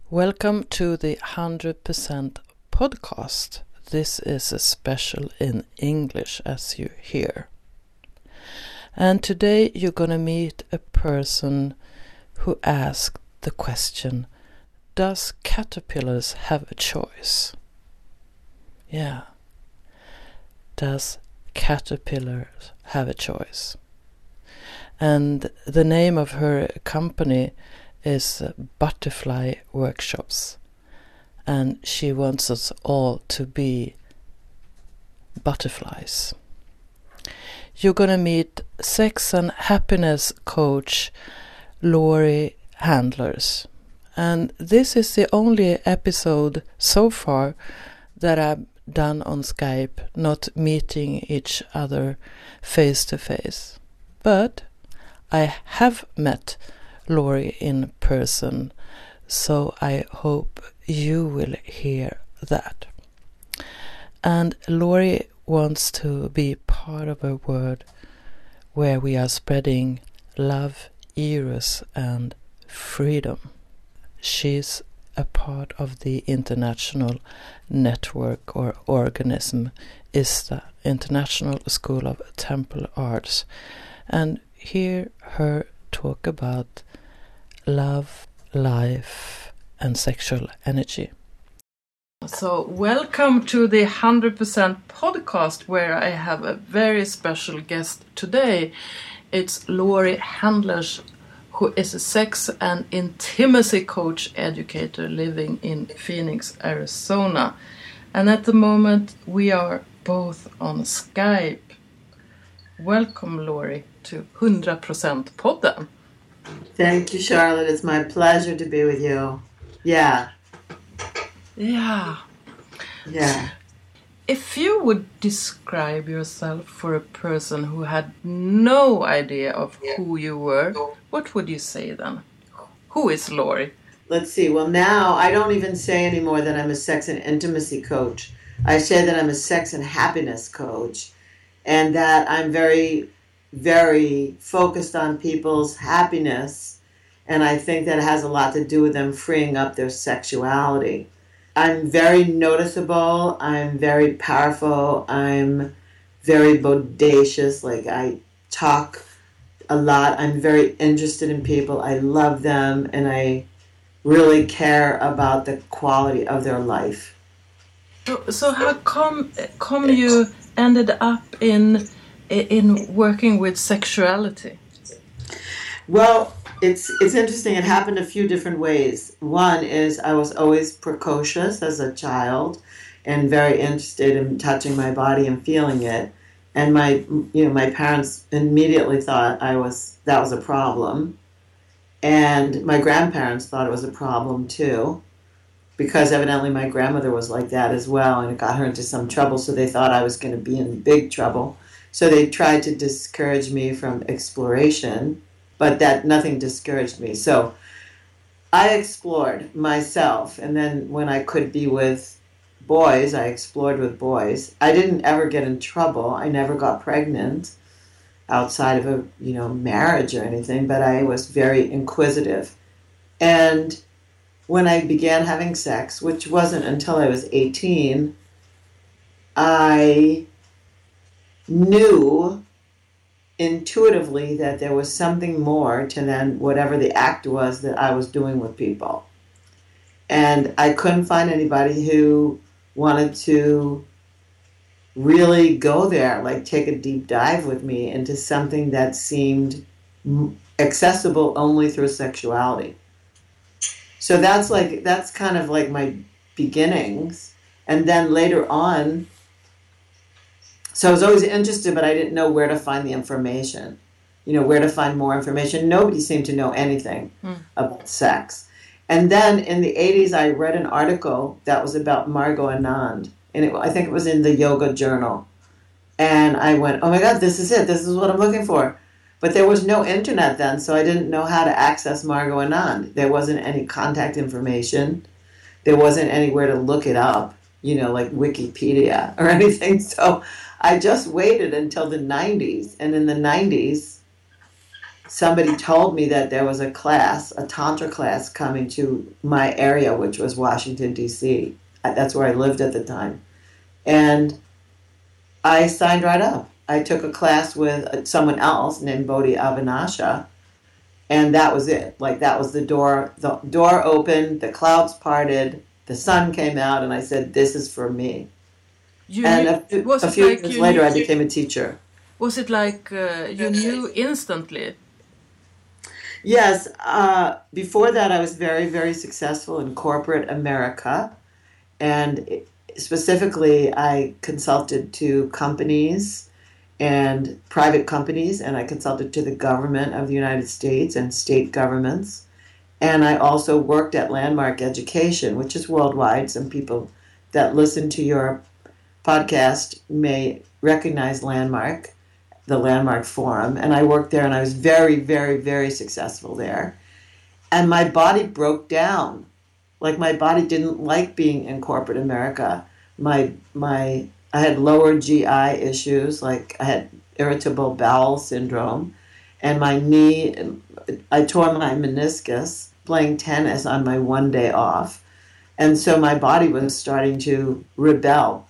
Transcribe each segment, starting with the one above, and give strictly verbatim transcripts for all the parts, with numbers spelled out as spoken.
Welcome to the one hundred percent podcast. This is a special in English, as you hear. And today you're going to meet a person who asked the question, does caterpillars have a choice? Yeah. Does caterpillars have a choice? And the name of her company is Butterfly Workshops, and she wants us all to be butterflies. You're gonna meet sex and happiness coach Laurie Handlers, and this is the only episode so far that I've done on Skype, not meeting each other face to face. But I have met Laurie in person, so I hope you will hear that. And Laurie wants to be part of a world where we are spreading love, eros, and freedom. She's a part of the international network or organism, ISTA, International School of Temple Arts, and hear her talk about love, life, and sexual energy. So welcome to the one hundred percent podcast, where I have a very special guest today. It's Laurie Handlers, who is a sex and intimacy coach educator living in Phoenix, Arizona. And at the moment we are both on Skype. Welcome, Laurie, to one hundred percent podden. Thank you, Charlotte. It's my pleasure to be with you. Yeah. Yeah. Yeah. If you would describe yourself for a person who had no idea of who you were, what would you say then? Who is Laurie? Let's see. Well, now I don't even say anymore that I'm a sex and intimacy coach. I say that I'm a sex and happiness coach, and that I'm very very focused on people's happiness, and I think that has a lot to do with them freeing up their sexuality. I'm very noticeable, I'm very powerful, I'm very bodacious, like I talk a lot, I'm very interested in people, I love them, and I really care about the quality of their life. So, so how come, come you ended up in in working with sexuality? Well, it's it's interesting. It happened a few different ways. One is I was always precocious as a child and very interested in touching my body and feeling it. And my you know my parents immediately thought I was that was a problem. And my grandparents thought it was a problem too, because evidently my grandmother was like that as well, and it got her into some trouble, so they thought I was going to be in big trouble. So they tried to discourage me from exploration, but that nothing discouraged me. So I explored myself, and then when I could be with boys, I explored with boys. I didn't ever get in trouble. I never got pregnant outside of a, you know, marriage or anything, but I was very inquisitive. And when I began having sex, which wasn't until I was eighteen, I knew intuitively that there was something more to than whatever the act was that I was doing with people. And I couldn't find anybody who wanted to really go there, like take a deep dive with me into something that seemed accessible only through sexuality. So that's like that's kind of like my beginnings. And then later on, so I was always interested, but I didn't know where to find the information, you know, where to find more information. Nobody seemed to know anything mm. about sex. And then in the eighties, I read an article that was about Margot Anand, and it, I think it was in the Yoga Journal. And I went, oh my God, this is it. This is what I'm looking for. But there was no internet then, so I didn't know how to access Margot Anand. There wasn't any contact information. There wasn't anywhere to look it up, you know, like Wikipedia or anything. So I just waited until the nineties. And in the nineties, somebody told me that there was a class, a Tantra class coming to my area, which was Washington, D C. That's where I lived at the time. And I signed right up. I took a class with someone else named Bodhi Avanasha, and that was it. Like, that was the door. The door opened, the clouds parted, the sun came out, and I said, this is for me. You and a, few, a few like years later, knew, I became a teacher. Was it like uh, you knew instantly? Yes. Uh, before that, I was very, very successful in corporate America. And specifically, I consulted to companies and private companies, and I consulted to the government of the United States and state governments. And I also worked at Landmark Education, which is worldwide. Some people that listen to your podcast may recognize Landmark, the Landmark Forum. And I worked there, and I was very, very, very successful there. And my body broke down. Like, my body didn't like being in corporate America. My my I had lower G I issues, like I had irritable bowel syndrome, and my knee, I tore my meniscus playing tennis on my one day off. And so my body was starting to rebel.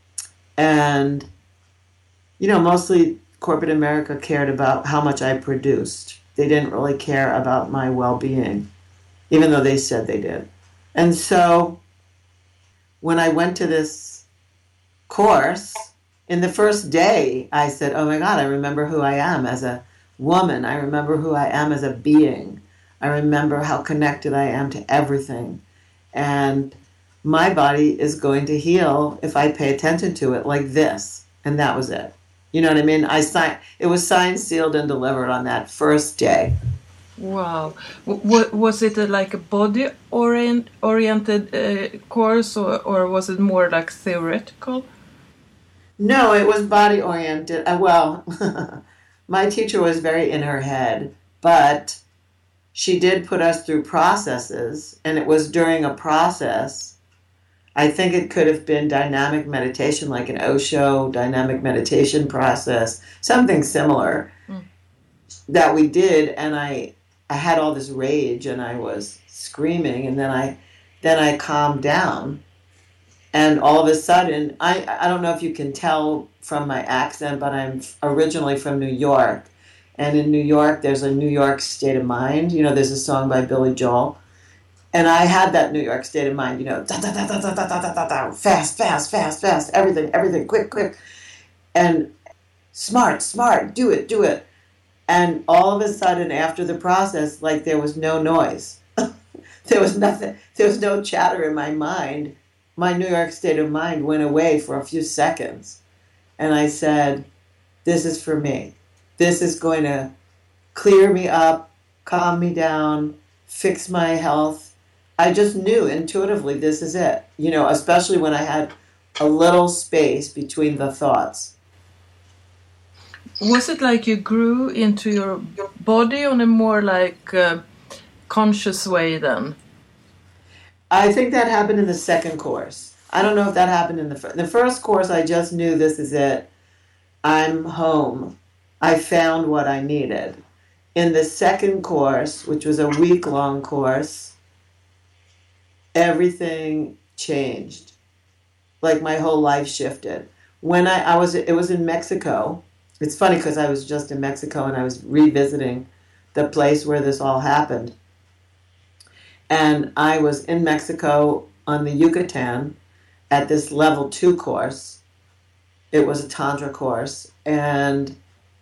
And, you know, mostly corporate America cared about how much I produced. They didn't really care about my well-being, even though they said they did. And so when I went to this course, in the first day, I said, oh my God, I remember who I am as a woman. I remember who I am as a being. I remember how connected I am to everything. And my body is going to heal if I pay attention to it like this. And that was it. You know what I mean? I signed, it was signed, sealed, and delivered on that first day. Wow. W- was it a, like a body orient, oriented uh, course, or, or was it more like theoretical? No, it was body oriented. Uh, well, my teacher was very in her head, but she did put us through processes, and it was during a process. I think it could have been dynamic meditation, like an Osho dynamic meditation process, something similar mm. that we did, and I I had all this rage and I was screaming, and then I then I calmed down, and all of a sudden, I, I don't know if you can tell from my accent, but I'm originally from New York, and in New York there's a New York state of mind. You know, there's a song by Billy Joel, and I had that New York state of mind. You know, da da da da da da da da da, fast, fast, fast, fast, everything, everything, quick, quick, and smart, smart, do it, do it. And all of a sudden, after the process, like, there was no noise. There was nothing. There was no chatter in my mind. My New York state of mind went away for a few seconds. And I said, this is for me. This is going to clear me up, calm me down, fix my health. I just knew intuitively this is it. You know, especially when I had a little space between the thoughts. Was it like you grew into your body on a more like uh, conscious way then? I think that happened in the second course. I don't know if that happened in the first. The first course, I just knew this is it. I'm home. I found what I needed. In the second course, which was a week-long course, everything changed. Like, my whole life shifted. When I, I was, it was in Mexico. It's funny because I was just in Mexico and I was revisiting the place where this all happened. And I was in Mexico on the Yucatan at this level two course. It was a Tantra course. And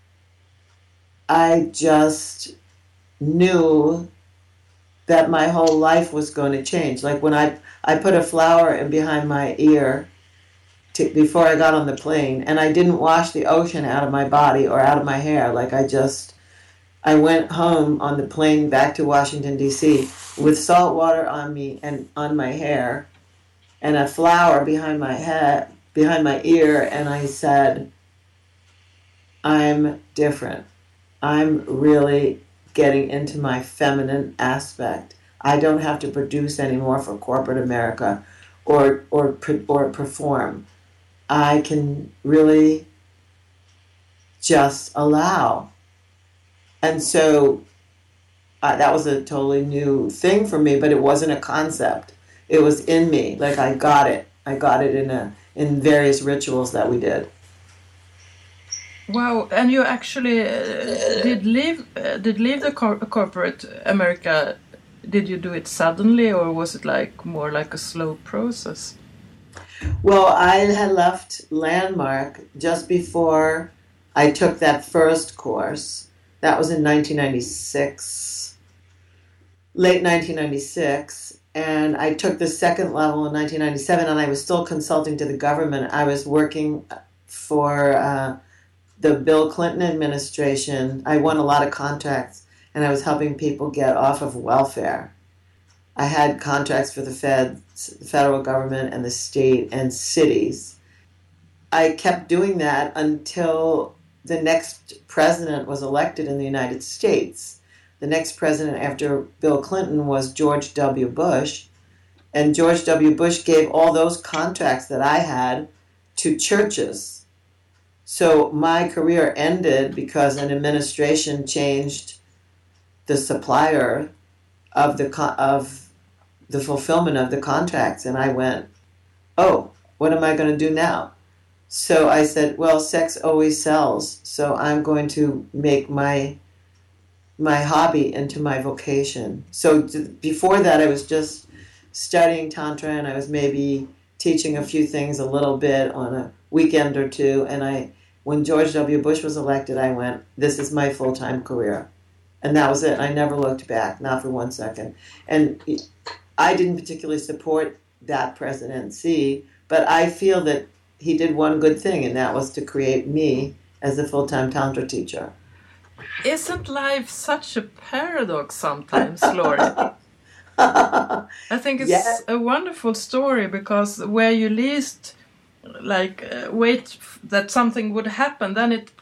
I just knew that my whole life was going to change. Like, when I, I put a flower in behind my ear To, before I got on the plane, and I didn't wash the ocean out of my body or out of my hair. Like, I just, I went home on the plane back to Washington, D C with salt water on me and on my hair and a flower behind my head, behind my ear, and I said, I'm different. I'm really getting into my feminine aspect. I don't have to produce anymore for corporate America or or or perform. I can really just allow. And so uh, that was a totally new thing for me, but it wasn't a concept. It was in me. Like I got it. I got it in a in various rituals that we did. Wow! And you actually uh, did leave uh, did leave the cor- corporate America. Did you do it suddenly, or was it like more like a slow process? Well, I had left Landmark just before I took that first course. That was in nineteen ninety-six, late nineteen ninety-six. And I took the second level in nineteen ninety-seven, and I was still consulting to the government. I was working for uh, the Bill Clinton administration. I won a lot of contracts, and I was helping people get off of welfare. I had contracts for the feds, the federal government, and the state and cities. I kept doing that until the next president was elected in the United States. The next president after Bill Clinton was George W. Bush, and George W. Bush gave all those contracts that I had to churches. So my career ended because an administration changed the supplier of the of the fulfillment of the contracts, and I went, oh, what am I going to do now? So I said, well, sex always sells, so I'm going to make my my hobby into my vocation. So t- before that, I was just studying Tantra, and I was maybe teaching a few things a little bit on a weekend or two, and I, when George W. Bush was elected, I went, this is my full-time career. And that was it. I never looked back, not for one second. And I didn't particularly support that presidency, but I feel that he did one good thing, and that was to create me as a full-time Tantra teacher. Isn't life such a paradox sometimes, Laurie? I think it's yeah. a wonderful story, because where you least like uh, wait that something would happen, then it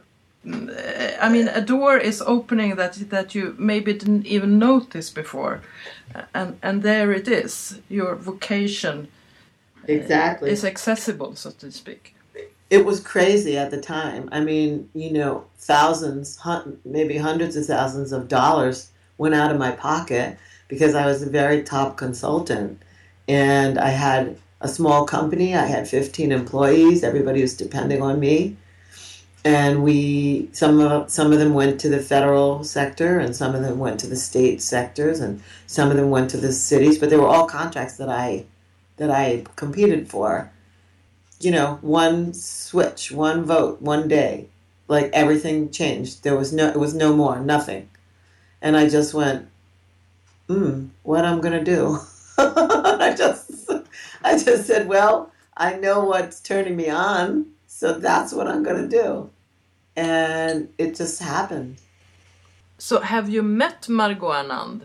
I mean, a door is opening that that you maybe didn't even notice before, and and there it is. Your vocation exactly is accessible, so to speak. It was crazy at the time. I mean, you know, thousands, hun- maybe hundreds of thousands of dollars went out of my pocket because I was a very top consultant, and I had a small company. I had fifteen employees. Everybody was depending on me. And we, some of some of them went to the federal sector, and some of them went to the state sectors, and some of them went to the cities. But they were all contracts that I, that I competed for. You know, one switch, one vote, one day, like everything changed. There was no, it was no more, nothing. And I just went, hmm, what I'm gonna do? I just, I just said, well, I know what's turning me on, so that's what I'm gonna do. And it just happened. So have you met Margot Anand?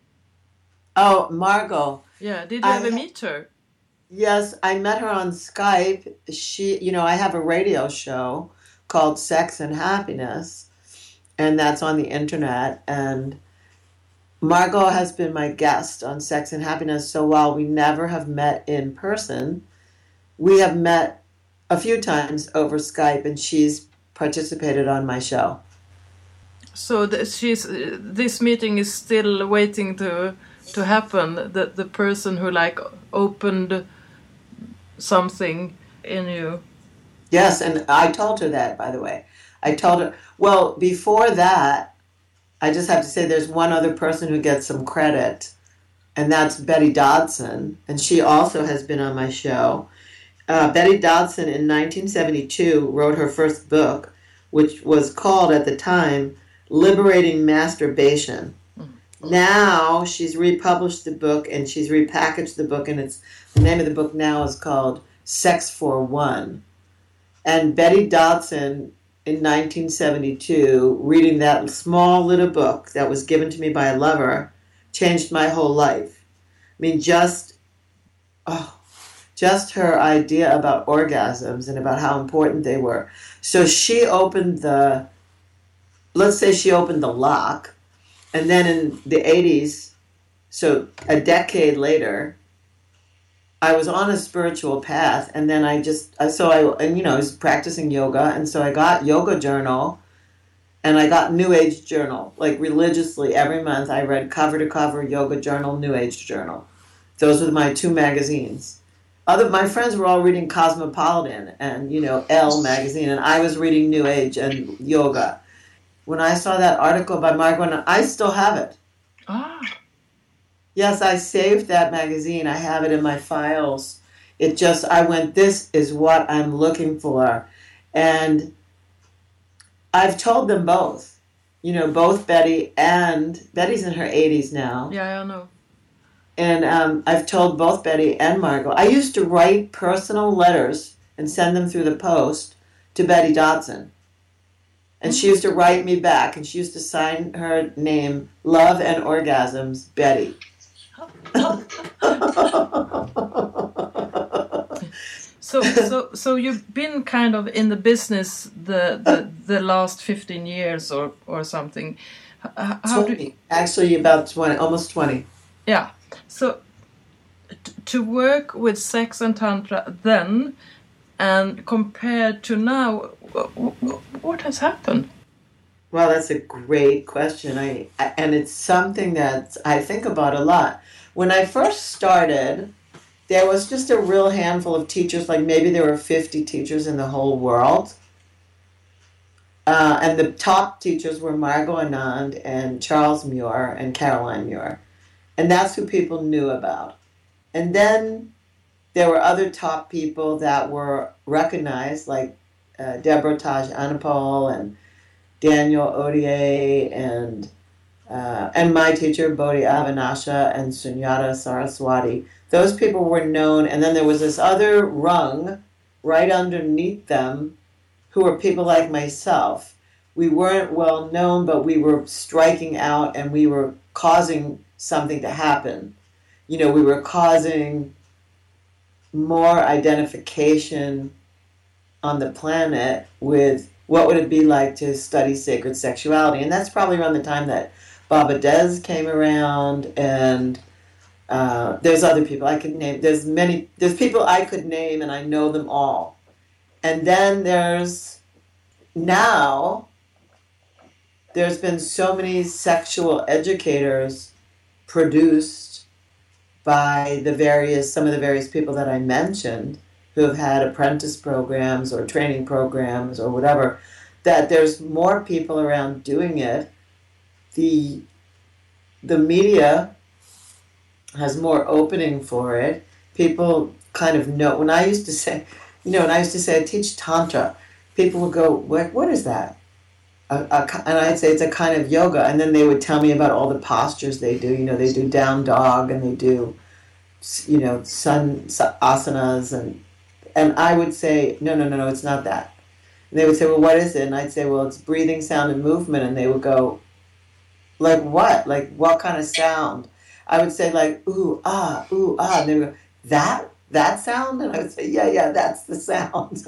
Oh, Margot. Yeah, did you I, ever meet her? Yes, I met her on Skype. She, you know, I have a radio show called Sex and Happiness, and that's on the internet. And Margot has been my guest on Sex and Happiness, so while we never have met in person, we have met a few times over Skype, and she's participated on my show. So the, she's uh, this meeting is still waiting to to happen. The the person who like opened something in you. Yes, and I told her that, by the way. I told her. Well, before that, I just have to say there's one other person who gets some credit, and that's Betty Dodson, and she also has been on my show. Uh, Betty Dodson in nineteen seventy-two wrote her first book, which was called at the time Liberating Masturbation. Mm-hmm. Now she's republished the book, and she's repackaged the book, and it's the name of the book now is called Sex for One. And Betty Dodson in nineteen seventy-two, reading that small little book that was given to me by a lover, changed my whole life. I mean, just oh. Just her idea about orgasms and about how important they were. So she opened the, let's say she opened the lock, and then in the eighties, so a decade later, I was on a spiritual path, and then I just, so I, and you know, I was practicing yoga, and so I got Yoga Journal, And I got New Age Journal, like religiously every month. I read cover to cover Yoga Journal, New Age Journal. Those were my two magazines. Other my friends were all reading Cosmopolitan and you know Elle magazine, and I was reading New Age and yoga. When I saw that article by Margot, I still have it. Ah. Yes, I saved that magazine. I have it in my files. It just I went. This is what I'm looking for, and I've told them both. You know, both Betty and Betty's in her eighties now. Yeah, I know. And um, I've told both Betty and Margot. I used to write personal letters and send them through the post to Betty Dodson. And she used to write me back, and she used to sign her name, Love and Orgasms, Betty. so, so, so you've been kind of in the business the the, the last fifteen years or, or something. How twenty. Do you... Actually, about twenty, almost twenty. Yeah. So t- to work with sex and tantra then, and compared to now, what has happened? Well, that's a great question. I, I and it's something that I think about a lot. When I first started, there was just a real handful of teachers. Like maybe there were fifty teachers in the whole world. Uh, and the top teachers were Margot Anand and Charles Muir and Caroline Muir. And that's who people knew about. And then there were other top people that were recognized, like uh, Deborah Taj Anapol and Daniel Odier and uh, and my teacher, Bodhi Avanasha and Sunyata Saraswati. Those people were known. And then there was this other rung right underneath them who were people like myself. We weren't well known, but we were striking out and we were causing something to happen. You know, we were causing more identification on the planet with what would it be like to study sacred sexuality. And that's probably around the time that Baba Des came around, and uh, there's other people I could name. There's many, there's people I could name, and I know them all. And then there's, now, there's been so many sexual educators produced by the various, some of the various people that I mentioned who have had apprentice programs or training programs or whatever, that there's more people around doing it. The, the media has more opening for it. People kind of know. When I used to say, you know, when I used to say I teach Tantra, people would go, what, what is that? A, a, and I'd say it's a kind of yoga, and then they would tell me about all the postures they do. You know, they do down dog, and they do, you know, sun asanas, and and I would say, no, no, no, no, it's not that. And they would say, well, what is it? And I'd say, well, it's breathing, sound, and movement. And they would go, like what? Like what kind of sound? I would say like ooh ah ooh ah, and they would go, that that sound, and I would say, yeah, yeah, that's the sound.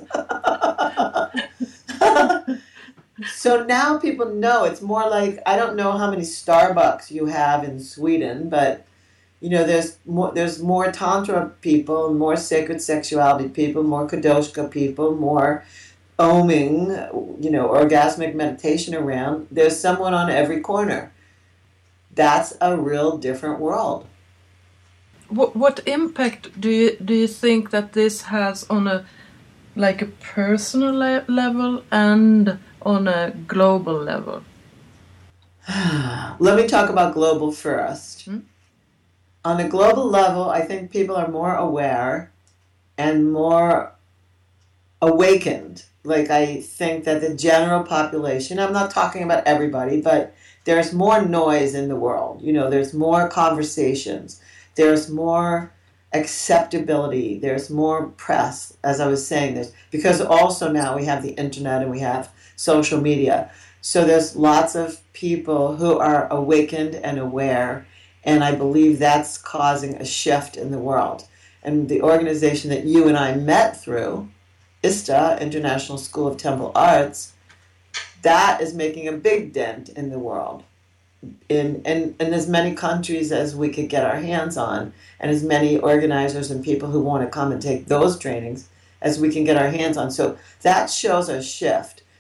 So now people know. It's more like, I don't know how many Starbucks you have in Sweden, but you know, there's more there's more Tantra people, more sacred sexuality people, more Kadoshka people, more oming, you know, orgasmic meditation around. There's someone on every corner. That's a real different world. What what impact do you do you think that this has on a like a personal le- level and on a global level? Let me talk about global first. Hmm? On a global level, I think people are more aware and more awakened. Like, I think that the general population, I'm not talking about everybody, but there's more noise in the world. You know, there's more conversations. There's more acceptability. There's more press, as I was saying this, because also now we have the internet and we have social media. So there's lots of people who are awakened and aware, and I believe that's causing a shift in the world. And the organization that you and I met through, ISTA, International School of Temple Arts, that is making a big dent in the world. In, in, in as many countries as we could get our hands on, and as many organizers and people who want to come and take those trainings as we can get our hands on. So that shows a shift.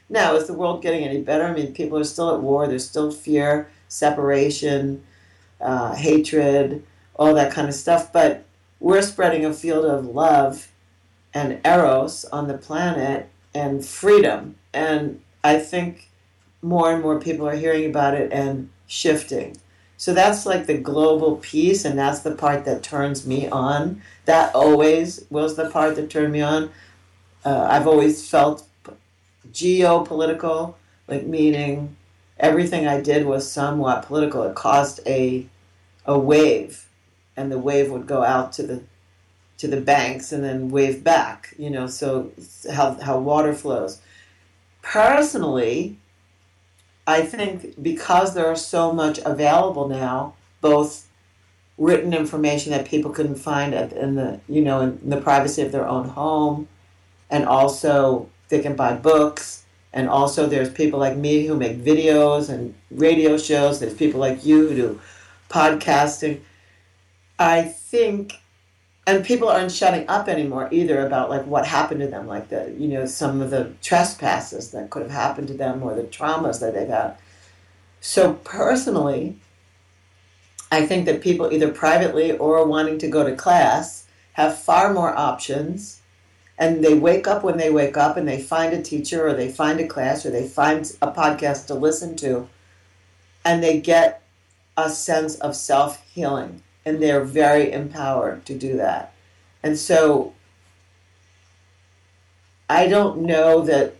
Now, is the world getting any better? I mean, people are still at war. There's still fear, separation, uh, hatred, all that kind of stuff. But we're spreading a field of love and eros on the planet and freedom. And I think more and more people are hearing about it and shifting. So that's like the global piece, and that's the part that turns me on. That always was the part that turned me on. Uh, I've always felt geopolitical, like meaning everything I did was somewhat political. It caused a a wave, and the wave would go out to the to the banks and then wave back. You know, so how how water flows. Personally, I think because there are so much available now, both written information that people can find at, in the you know in the privacy of their own home, and also they can buy books, and also there's people like me who make videos and radio shows. There's people like you who do podcasting. I think, and people aren't shutting up anymore either about like what happened to them, like the you know some of the trespasses that could have happened to them or the traumas that they've had. So personally, I think that people either privately or wanting to go to class have far more options. And they wake up when they wake up and they find a teacher or they find a class or they find a podcast to listen to, and they get a sense of self-healing, and they're very empowered to do that. And so I don't know that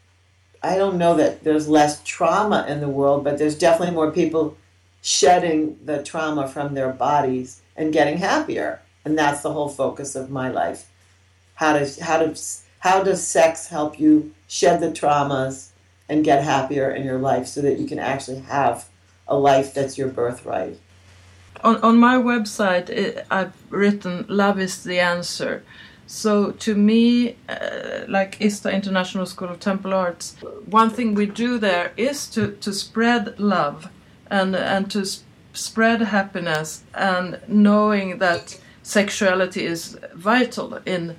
I don't know that there's less trauma in the world, but there's definitely more people shedding the trauma from their bodies and getting happier. And that's the whole focus of my life. How does how does how does sex help you shed the traumas and get happier in your life so that you can actually have a life that's your birthright? On on my website, it, I've written "Love is the answer." So to me, uh, like ISTA International School of Temple Arts, one thing we do there is to, to spread love and and to sp- spread happiness, and knowing that sexuality is vital in.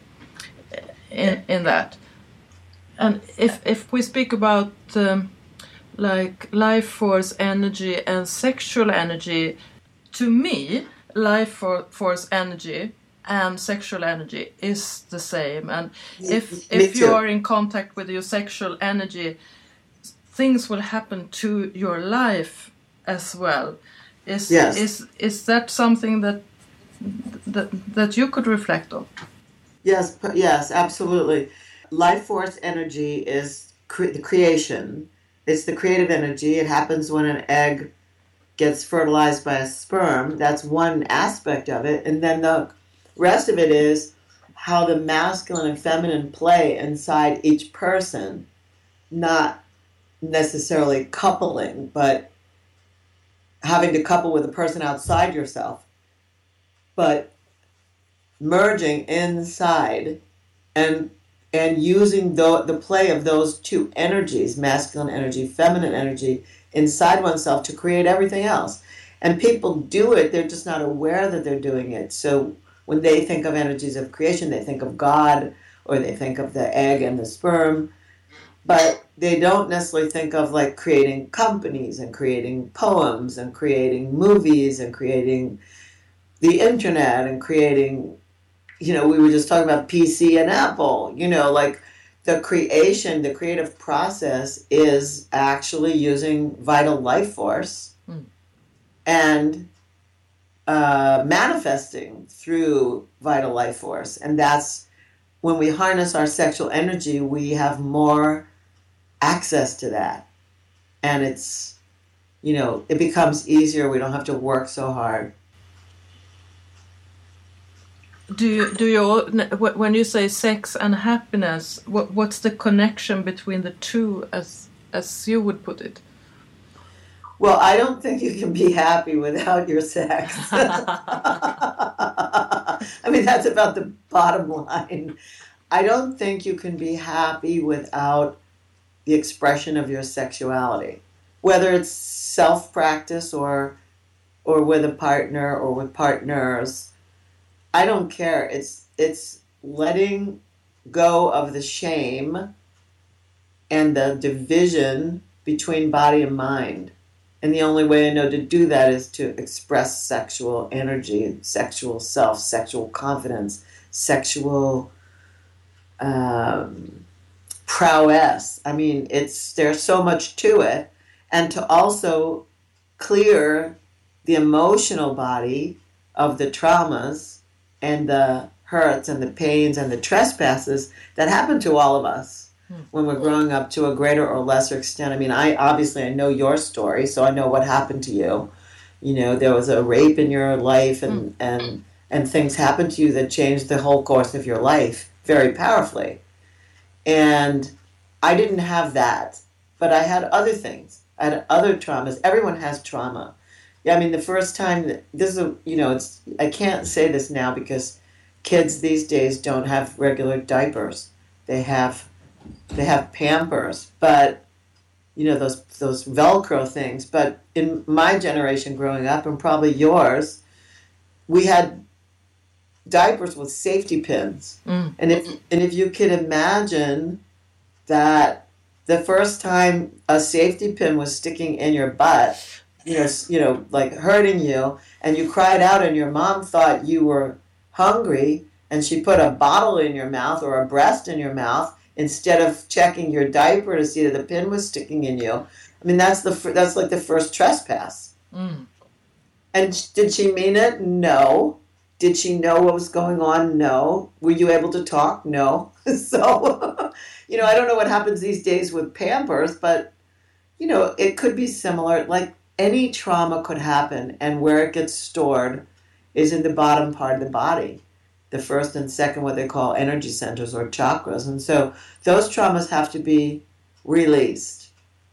In, in that, and if if we speak about um, like life force energy and sexual energy, to me, life for, force energy and sexual energy is the same. And if Me if too. you are in contact with your sexual energy, things will happen to your life as well. Is Yes. is is that something that that that you could reflect on? Yes, p- yes, absolutely. Life force energy is cre- the creation. It's the creative energy. It happens when an egg gets fertilized by a sperm. That's one aspect of it. And then the rest of it is how the masculine and feminine play inside each person, not necessarily coupling, but having to couple with a person outside yourself, but merging inside and and using the, the play of those two energies, masculine energy, feminine energy, inside oneself to create everything else. And people do it, they're just not aware that they're doing it. So when they think of energies of creation, they think of God, or they think of the egg and the sperm, but they don't necessarily think of like creating companies and creating poems and creating movies and creating the internet and creating, you know, we were just talking about P C and Apple, you know, like the creation, the creative process is actually using vital life force mm. and uh, manifesting through vital life force. And that's when we harness our sexual energy, we have more access to that. And it's, you know, it becomes easier. We don't have to work so hard. Do you, do you, when you say sex and happiness, what, what's the connection between the two, as as you would put it? Well, I don't think you can be happy without your sex. I mean, that's about the bottom line. I don't think you can be happy without the expression of your sexuality, whether it's self-practice or or with a partner or with partners. I don't care. It's it's letting go of the shame and the division between body and mind. And the only way I know to do that is to express sexual energy, sexual self, sexual confidence, sexual um, prowess. I mean, it's there's so much to it. And to also clear the emotional body of the traumas and the hurts and the pains and the trespasses that happen to all of us hmm. when we're growing up to a greater or lesser extent. I mean, I obviously I know your story, so I know what happened to you. You know, there was a rape in your life and, hmm. and, and things happened to you that changed the whole course of your life very powerfully. And I didn't have that, but I had other things. I had other traumas. Everyone has trauma. Yeah, I mean, the first time, that, this is, a, you know, it's I can't say this now because kids these days don't have regular diapers. They have, they have Pampers, but, you know, those those Velcro things. But in my generation growing up, and probably yours, we had diapers with safety pins. Mm. And if and if you could imagine that the first time a safety pin was sticking in your butt, you know, you know, like hurting you, and you cried out and your mom thought you were hungry and she put a bottle in your mouth or a breast in your mouth instead of checking your diaper to see that the pin was sticking in you. I mean, that's the that's like the first trespass. Mm. And did she mean it? No. Did she know what was going on? No. Were you able to talk? No. So, you know, I don't know what happens these days with Pampers, but, you know, it could be similar. Like any trauma could happen, and where it gets stored is in the bottom part of the body, the first and second, what they call energy centers or chakras. And so those traumas have to be released.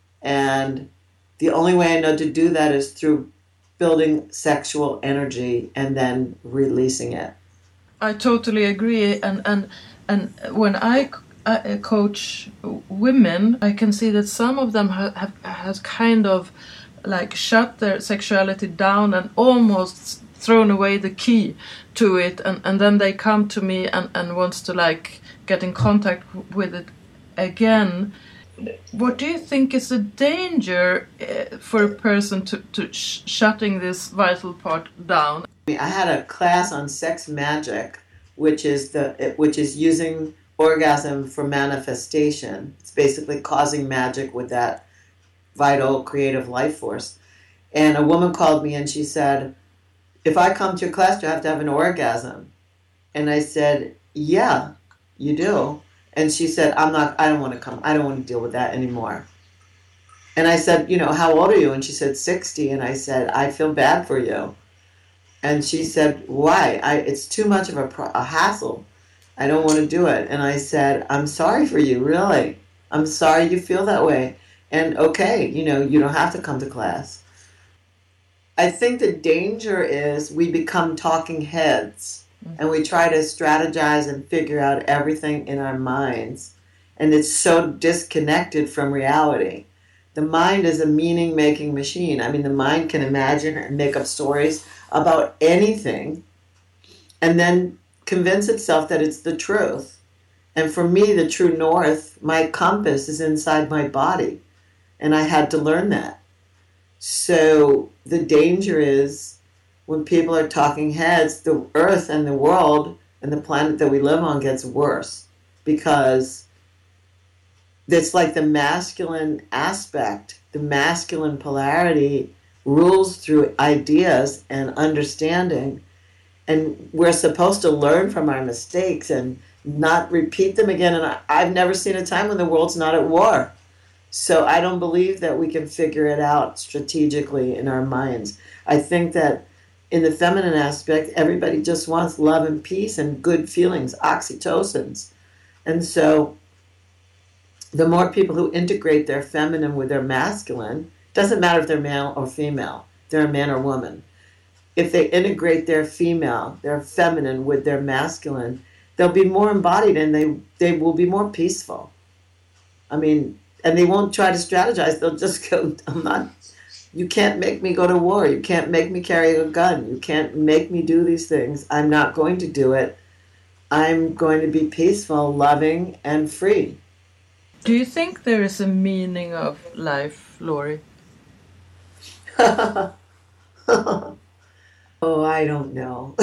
And the only way I know to do that is through building sexual energy and then releasing it. I totally agree. And and and when I, I coach women, I can see that some of them have, have has kind of like shut their sexuality down and almost thrown away the key to it, and, and then they come to me and, and wants to like get in contact with it again. What do you think is the danger uh, for a person to, to sh- shutting this vital part down? I had a class on sex magic, which is the which is using orgasm for manifestation. It's basically causing magic with that vital creative life force. And a woman called me and she said, if I come to your class, do I have to have an orgasm? And I said, yeah, you do. And she said, I'm not, I don't want to come. I don't want to deal with that anymore. And I said, you know, how old are you? And she said, sixty. And I said, I feel bad for you. And she said, why? I, it's too much of a, a hassle. I don't want to do it. And I said, I'm sorry for you, really. I'm sorry you feel that way. And okay, you know, you don't have to come to class. I think the danger is we become talking heads and we try to strategize and figure out everything in our minds. And it's so disconnected from reality. The mind is a meaning-making machine. I mean, the mind can imagine and make up stories about anything and then convince itself that it's the truth. And for me, the true north, my compass is inside my body. And I had to learn that. So the danger is when people are talking heads, the earth and the world and the planet that we live on gets worse because it's like the masculine aspect, the masculine polarity rules through ideas and understanding. And we're supposed to learn from our mistakes and not repeat them again. And I, I've never seen a time when the world's not at war. So I don't believe that we can figure it out strategically in our minds. I think that in the feminine aspect, everybody just wants love and peace and good feelings, oxytocins. And so the more people who integrate their feminine with their masculine, doesn't matter if they're male or female, they're a man or woman. If they integrate their female, their feminine with their masculine, they'll be more embodied and they, they will be more peaceful. I mean, and they won't try to strategize. They'll just go, I'm not, you can't make me go to war. You can't make me carry a gun. You can't make me do these things. I'm not going to do it. I'm going to be peaceful, loving, and free. Do you think there is a meaning of life, Laurie? Oh, I don't know.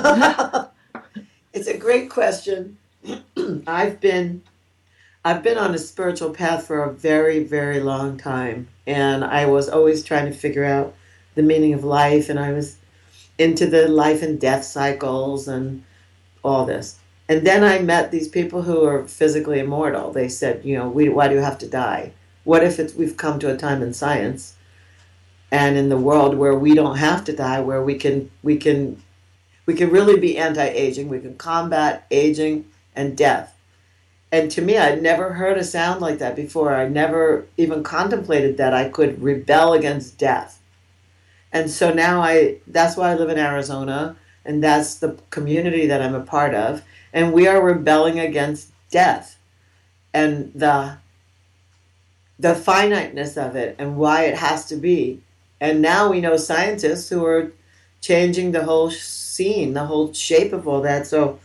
It's a great question. I've been I've been on a spiritual path for a very, very long time, and I was always trying to figure out the meaning of life, and I was into the life and death cycles and all this. And then I met these people who are physically immortal. They said, you know, we, why do you have to die? What if it's, we've come to a time in science and in the world where we don't have to die, where we can we can we can really be anti-aging, we can combat aging and death. And to me, I'd never heard a sound like that before. I never even contemplated that I could rebel against death. And so now I that's why I live in Arizona, and that's the community that I'm a part of. And we are rebelling against death and the the finiteness of it and why it has to be. And now we know scientists who are changing the whole scene, the whole shape of all that. So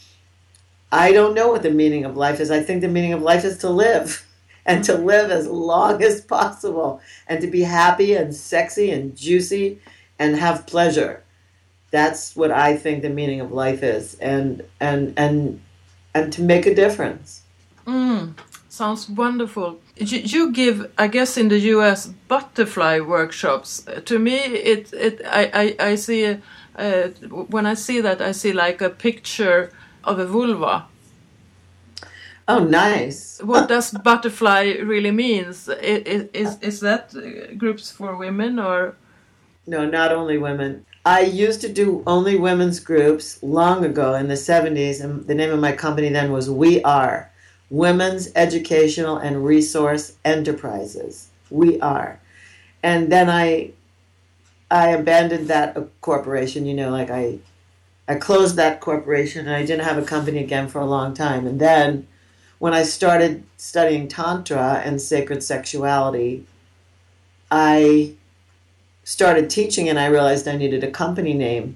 I don't know what the meaning of life is. I think the meaning of life is to live and to live as long as possible and to be happy and sexy and juicy and have pleasure. That's what I think the meaning of life is, and and and and to make a difference. Mm, sounds wonderful. You, you give, I guess, in the U S butterfly workshops. To me, it it I I, I see a, uh, when I see that I see like a picture of a vulva. Oh, nice. What does butterfly really means? Is is is that groups for women or? No, not only women. I used to do only women's groups long ago in the seventies, and the name of my company then was We Are, Women's Educational and Resource Enterprises. We Are. And then I I abandoned that corporation, you know, like I I closed that corporation and I didn't have a company again for a long time. And then when I started studying Tantra and sacred sexuality, I started teaching and I realized I needed a company name.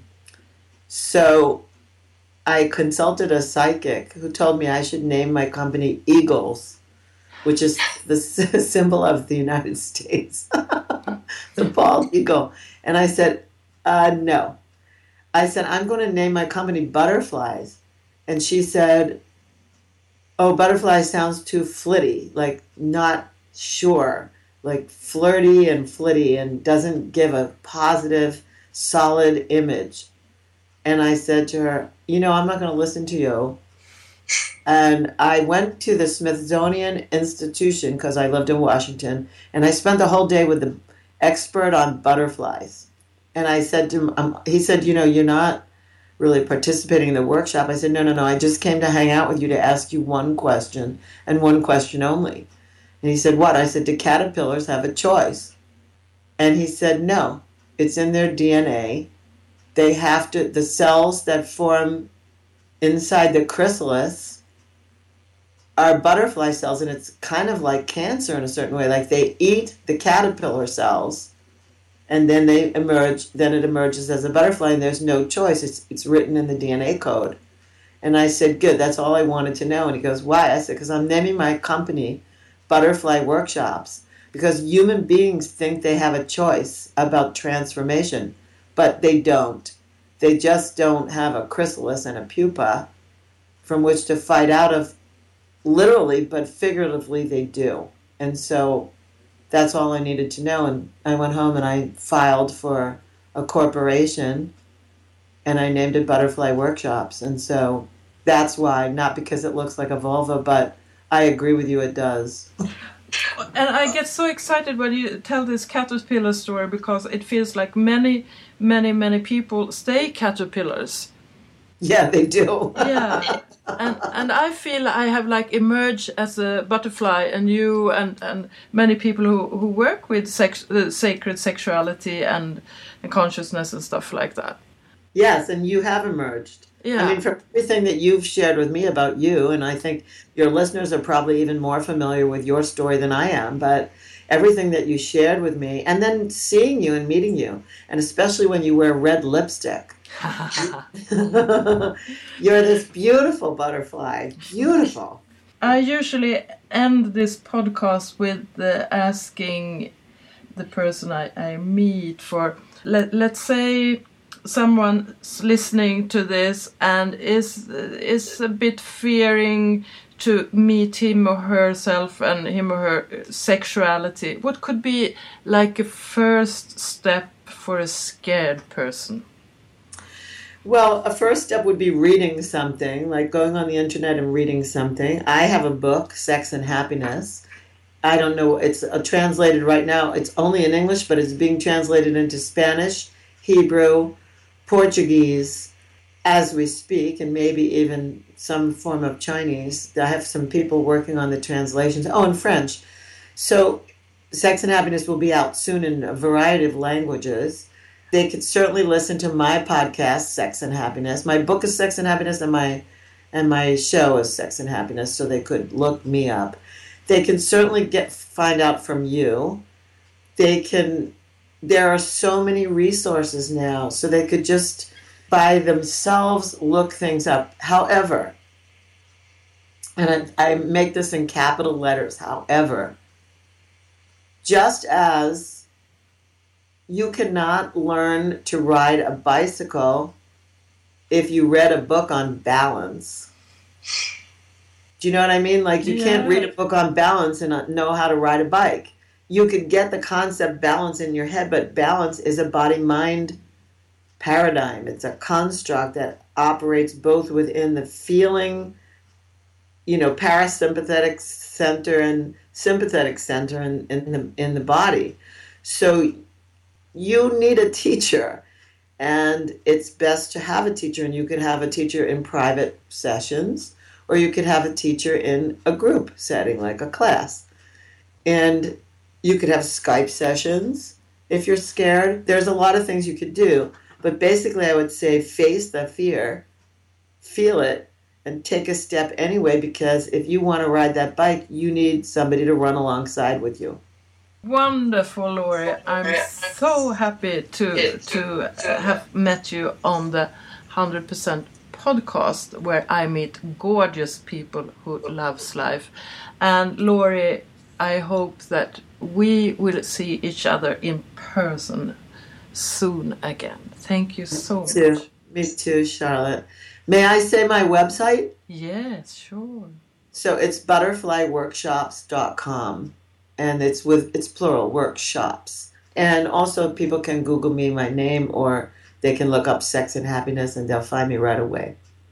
So I consulted a psychic who told me I should name my company Eagles, which is the symbol of the United States, the bald eagle. And I said, uh, no. I said, I'm going to name my company Butterflies. And she said, oh, butterfly sounds too flitty, like not sure. Like flirty and flitty and doesn't give a positive, solid image. And I said to her, you know, I'm not going to listen to you. And I went to the Smithsonian Institution because I lived in Washington, and I spent the whole day with the expert on butterflies. And I said to him, um, he said, you know, you're not really participating in the workshop. I said, no, no, no, I just came to hang out with you to ask you one question and one question only. And he said, what? I said, do caterpillars have a choice? And he said, no, it's in their D N A. They have to, the cells that form inside the chrysalis are butterfly cells, and it's kind of like cancer in a certain way. Like they eat the caterpillar cells, and then they emerge, then it emerges as a butterfly, and there's no choice. It's, it's written in the D N A code. And I said, good, that's all I wanted to know. And he goes, why? I said, because I'm naming my company Butterfly Workshops, because human beings think they have a choice about transformation, but they don't. They just don't have a chrysalis and a pupa from which to fight out of, literally, but figuratively they do. And so that's all I needed to know. And I went home and I filed for a corporation and I named it Butterfly Workshops. And so that's why, not because it looks like a vulva, but I agree with you, it does. And I get so excited when you tell this caterpillar story, because it feels like many, many, many people stay caterpillars. Yeah, they do. Yeah. And and I feel I have like emerged as a butterfly, and you and, and many people who, who work with sex, uh, sacred sexuality and, and consciousness and stuff like that. Yes, and you have emerged. Yeah. I mean, from everything that you've shared with me about you, and I think your listeners are probably even more familiar with your story than I am, but everything that you shared with me, and then seeing you and meeting you, and especially when you wear red lipstick. You're this beautiful butterfly. Beautiful. I usually end this podcast with uh, asking the person I, I meet for, let, let's say someone's listening to this and is is a bit fearing to meet him or herself and him or her sexuality. What could be like a first step for a scared person? Well, a first step would be reading something, like going on the internet and reading something. I have a book, Sex and Happiness. I don't know, it's uh, translated right now. It's only in English, but it's being translated into Spanish, Hebrew, Portuguese, as we speak, and maybe even some form of Chinese. I have some people working on the translations. Oh, and French. So Sex and Happiness will be out soon in a variety of languages. They could certainly listen to my podcast, Sex and Happiness. My book is Sex and Happiness, and my and my show is Sex and Happiness, so they could look me up. They can certainly get find out from you. They can. There are so many resources now, so they could just by themselves look things up. However, and I, I make this in capital letters, however, just as you cannot learn to ride a bicycle if you read a book on balance. Do you know what I mean? Like, you yeah. can't read a book on balance and know how to ride a bike. You could get the concept balance in your head, but balance is a body-mind paradigm. It's a construct that operates both within the feeling, you know, parasympathetic center and sympathetic center in, in the in the body. So you need a teacher, and it's best to have a teacher, and you could have a teacher in private sessions, or you could have a teacher in a group setting, like a class. And you could have Skype sessions if you're scared. There's a lot of things you could do, but basically I would say face the fear, feel it, and take a step anyway, because if you want to ride that bike, you need somebody to run alongside with you. Wonderful, Lori. I'm so happy to to have met you on the one hundred percent podcast, where I meet gorgeous people who loves life. And Lori, I hope that we will see each other in person soon again. Thank you so Me too. much. Me too, Charlotte. May I say my website? Yes, sure. So it's butterfly workshops dot com. And it's with it's plural, workshops. And also people can Google me, my name, or they can look up Sex and Happiness, and they'll find me right away.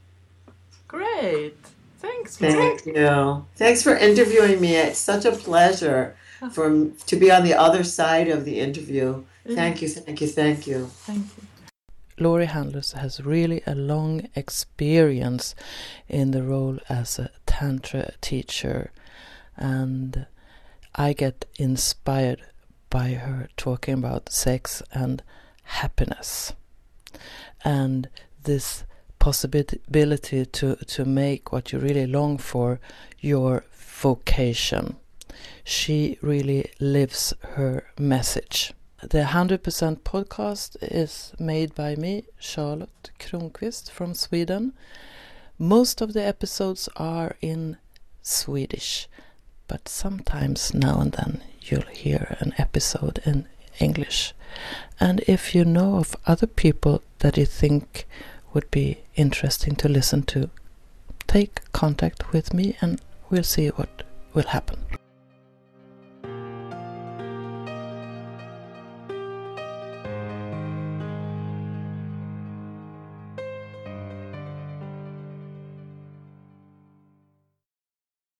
Great. Thanks, Thank Mike. you. Thanks for interviewing me. It's such a pleasure for to be on the other side of the interview. Thank you, thank you, thank you. Thank you. Lori Handlers has really a long experience in the role as a Tantra teacher, and I get inspired by her talking about sex and happiness, and this possibility to, to make what you really long for your vocation. She really lives her message. The one hundred percent podcast is made by me, Charlotte Kronqvist from Sweden. Most of the episodes are in Swedish, but sometimes now and then you'll hear an episode in English. And if you know of other people that you think would be interesting to listen to, take contact with me and we'll see what will happen.